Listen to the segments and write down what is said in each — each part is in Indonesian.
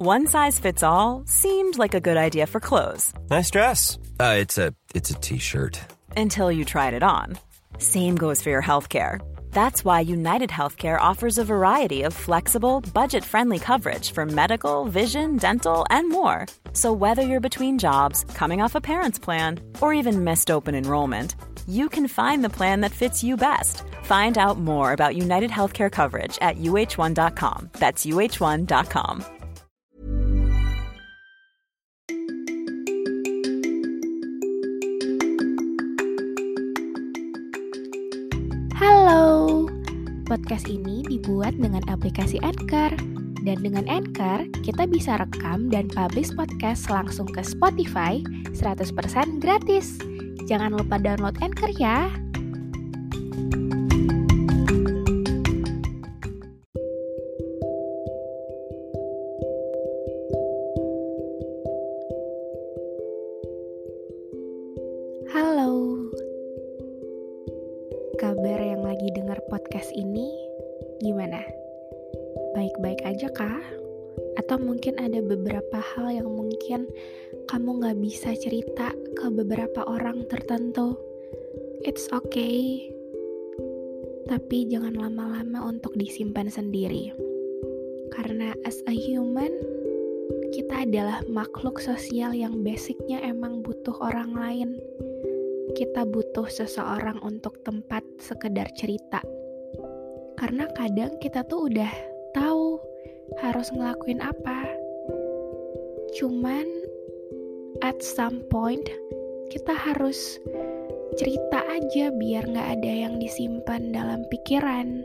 One size fits all seemed like a good idea for clothes. Nice dress. It's a t-shirt. Until you tried it on. Same goes for your healthcare. That's why United Healthcare offers a variety of flexible, budget-friendly coverage for medical, vision, dental, and more. So whether you're between jobs, coming off a parent's plan, or even missed open enrollment, you can find the plan that fits you best. Find out more about United Healthcare coverage at uh1.com. That's uh1.com. Halo, podcast ini dibuat dengan aplikasi Anchor. Dan dengan Anchor, kita bisa rekam dan publish podcast langsung ke Spotify 100% gratis. Jangan lupa download Anchor ya. Halo, kabar yang lagi dengar podcast ini gimana? Baik-baik aja kah? Atau mungkin ada beberapa hal yang mungkin kamu gak bisa cerita ke beberapa orang tertentu? It's okay, tapi jangan lama-lama untuk disimpan sendiri. Karena as a human, kita adalah makhluk sosial yang basicnya emang butuh orang lain. Kita butuh seseorang untuk tempat sekedar cerita. Karena kadang kita tuh udah tahu harus ngelakuin apa. Cuman at some point kita harus cerita aja biar gak ada yang disimpan dalam pikiran.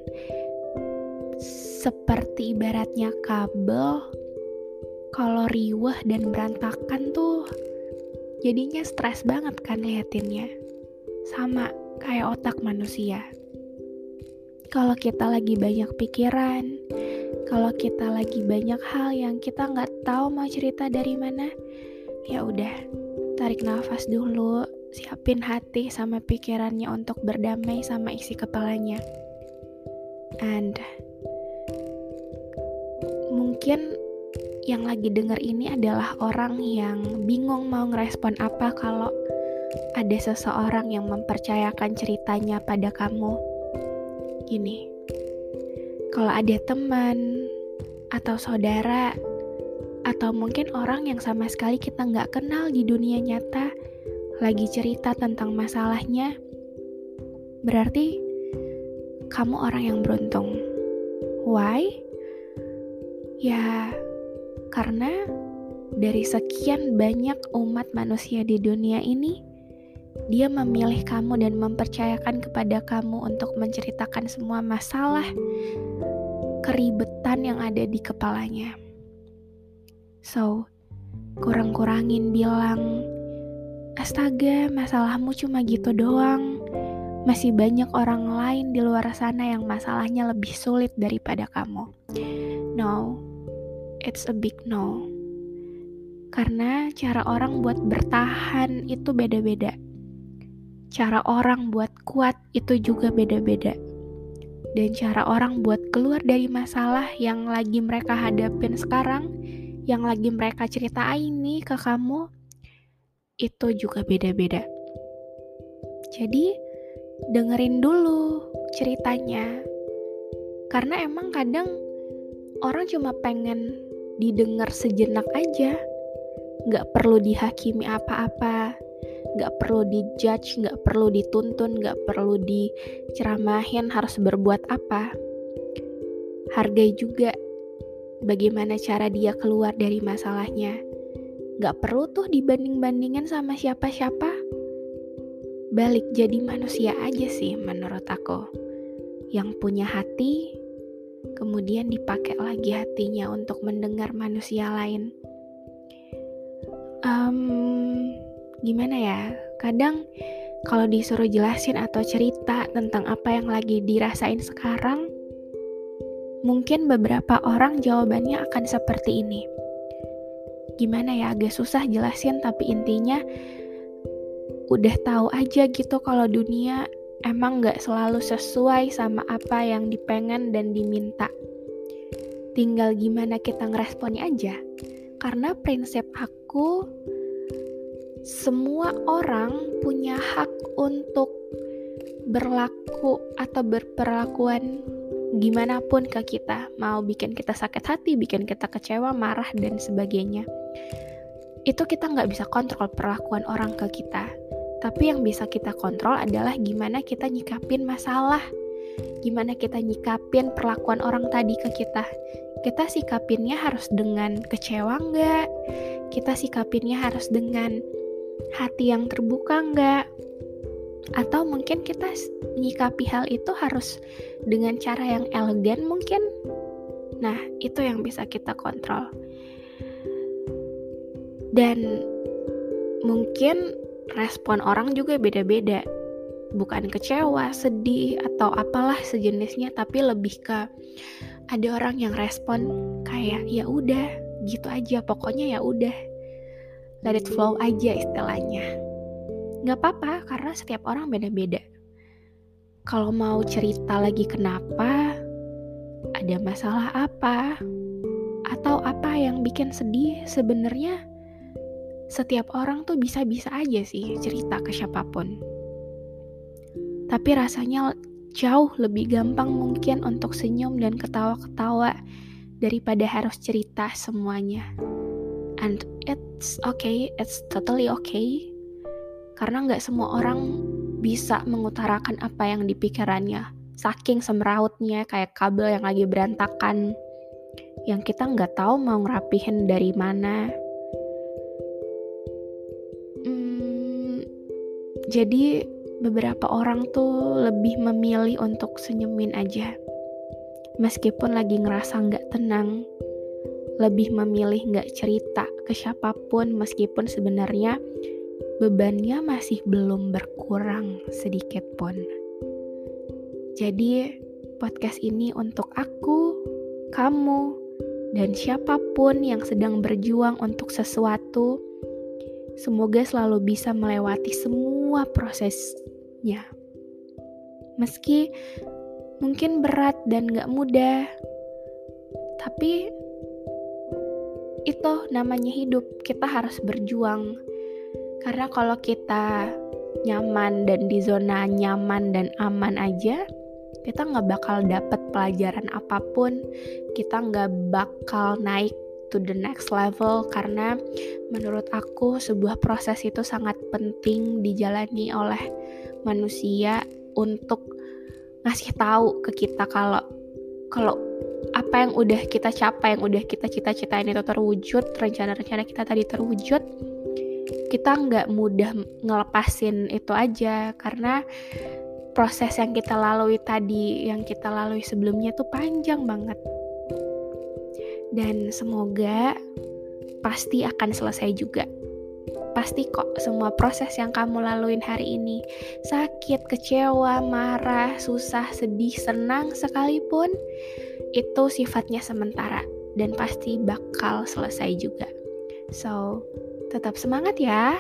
Seperti ibaratnya kabel, kalau riweh dan berantakan tuh jadinya stres banget kan liatinnya. Sama kayak otak manusia. Kalau kita lagi banyak pikiran, kalau kita lagi banyak hal yang kita nggak tahu mau cerita dari mana, ya udah, tarik nafas dulu, siapin hati sama pikirannya untuk berdamai sama isi kepalanya. And mungkin yang lagi denger ini adalah orang yang bingung mau ngerespon apa kalau ada seseorang yang mempercayakan ceritanya pada kamu. Gini, kalau ada teman atau saudara atau mungkin orang yang sama sekali kita nggak kenal di dunia nyata lagi cerita tentang masalahnya, berarti kamu orang yang beruntung. Why? Ya, karena dari sekian banyak umat manusia di dunia ini, dia memilih kamu dan mempercayakan kepada kamu untuk menceritakan semua masalah, keribetan yang ada di kepalanya. So, kurang-kurangin bilang, astaga, masalahmu cuma gitu doang. Masih banyak orang lain di luar sana yang masalahnya lebih sulit daripada kamu. No, it's a big no. Karena cara orang buat bertahan itu beda-beda. Cara orang buat kuat itu juga beda-beda. Dan cara orang buat keluar dari masalah yang lagi mereka hadapin sekarang, yang lagi mereka ceritain nih ke kamu, itu juga beda-beda. Jadi, dengerin dulu ceritanya. Karena emang kadang orang cuma pengen didengar sejenak aja. Gak perlu dihakimi apa-apa. Gak perlu dijudge, gak perlu dituntun, gak perlu diceramahin harus berbuat apa. Hargai juga bagaimana cara dia keluar dari masalahnya. Gak perlu tuh dibanding-bandingin sama siapa-siapa. Balik jadi manusia aja sih menurut aku. Yang punya hati, kemudian dipakai lagi hatinya untuk mendengar manusia lain. Gimana ya, kadang kalau disuruh jelasin atau cerita tentang apa yang lagi dirasain sekarang, mungkin beberapa orang jawabannya akan seperti ini. Gimana ya, agak susah jelasin, tapi intinya udah tahu aja gitu kalau dunia emang gak selalu sesuai sama apa yang dipengen dan diminta. tinggal gimana kita ngeresponnya aja. Karena prinsip aku, semua orang punya hak untuk berlaku atau berperlakuan gimana pun ke kita. Mau bikin kita sakit hati, bikin kita kecewa, marah, dan sebagainya. Itu kita nggak bisa kontrol perlakuan orang ke kita. Tapi yang bisa kita kontrol adalah gimana kita nyikapin masalah, gimana kita nyikapin perlakuan orang tadi ke kita. Kita sikapinnya harus dengan kecewa nggak? Kita sikapinnya harus dengan hati yang terbuka nggak? Atau mungkin kita menyikapi hal itu harus dengan cara yang elegan mungkin? Nah, itu yang bisa kita kontrol. Dan mungkin respon orang juga beda-beda. Bukan kecewa, sedih, atau apalah sejenisnya, tapi lebih ke ada orang yang respon kayak ya udah, gitu aja, pokoknya ya udah. Let it flow aja istilahnya. Gak apa-apa, karena setiap orang beda-beda. Kalau mau cerita lagi kenapa, ada masalah apa, atau apa yang bikin sedih, sebenarnya setiap orang tuh bisa-bisa aja sih cerita ke siapapun. Tapi rasanya jauh lebih gampang mungkin untuk senyum dan ketawa-ketawa daripada harus cerita semuanya. And it's okay, it's totally okay. Karena gak semua orang bisa mengutarakan apa yang di pikirannya. Saking semerautnya, kayak kabel yang lagi berantakan, yang kita gak tahu mau ngerapihin dari mana. Jadi beberapa orang tuh lebih memilih untuk senyumin aja. Meskipun lagi ngerasa gak tenang, lebih memilih gak cerita ke siapapun meskipun sebenarnya bebannya masih belum berkurang sedikit pun. Jadi podcast ini untuk aku, kamu, dan siapapun yang sedang berjuang untuk sesuatu. Semoga selalu bisa melewati semua prosesnya. Meski mungkin berat dan gak mudah, tapi itu namanya hidup. Kita harus berjuang. Karena kalau kita nyaman dan di zona nyaman dan aman aja, kita gak bakal dapet pelajaran apapun. Kita gak bakal naik to the next level, karena menurut aku sebuah proses itu sangat penting dijalani oleh manusia untuk ngasih tahu ke kita kalau apa yang udah kita capai, yang udah kita cita-citain itu terwujud, rencana-rencana kita tadi terwujud, kita nggak mudah ngelepasin itu aja, karena proses yang kita lalui tadi, yang kita lalui sebelumnya tuh panjang banget. Dan semoga pasti akan selesai juga. Pasti kok semua proses yang kamu laluin hari ini, sakit, kecewa, marah, susah, sedih, senang sekalipun, itu sifatnya sementara dan pasti bakal selesai juga. So, tetap semangat ya.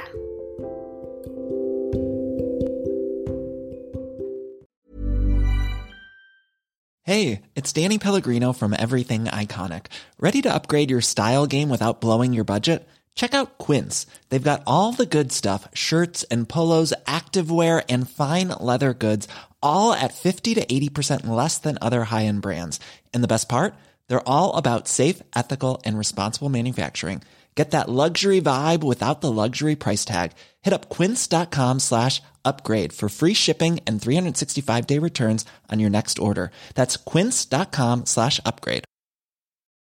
Hey, it's Danny Pellegrino from Everything Iconic. Ready to upgrade your style game without blowing your budget? Check out Quince. They've got all the good stuff, shirts and polos, activewear, and fine leather goods, all at 50 to 80% less than other high-end brands. And the best part? They're all about safe, ethical, and responsible manufacturing. Get that luxury vibe without the luxury price tag. Hit up quince.com/upgrade for free shipping and 365-day returns on your next order. That's quince.com/upgrade.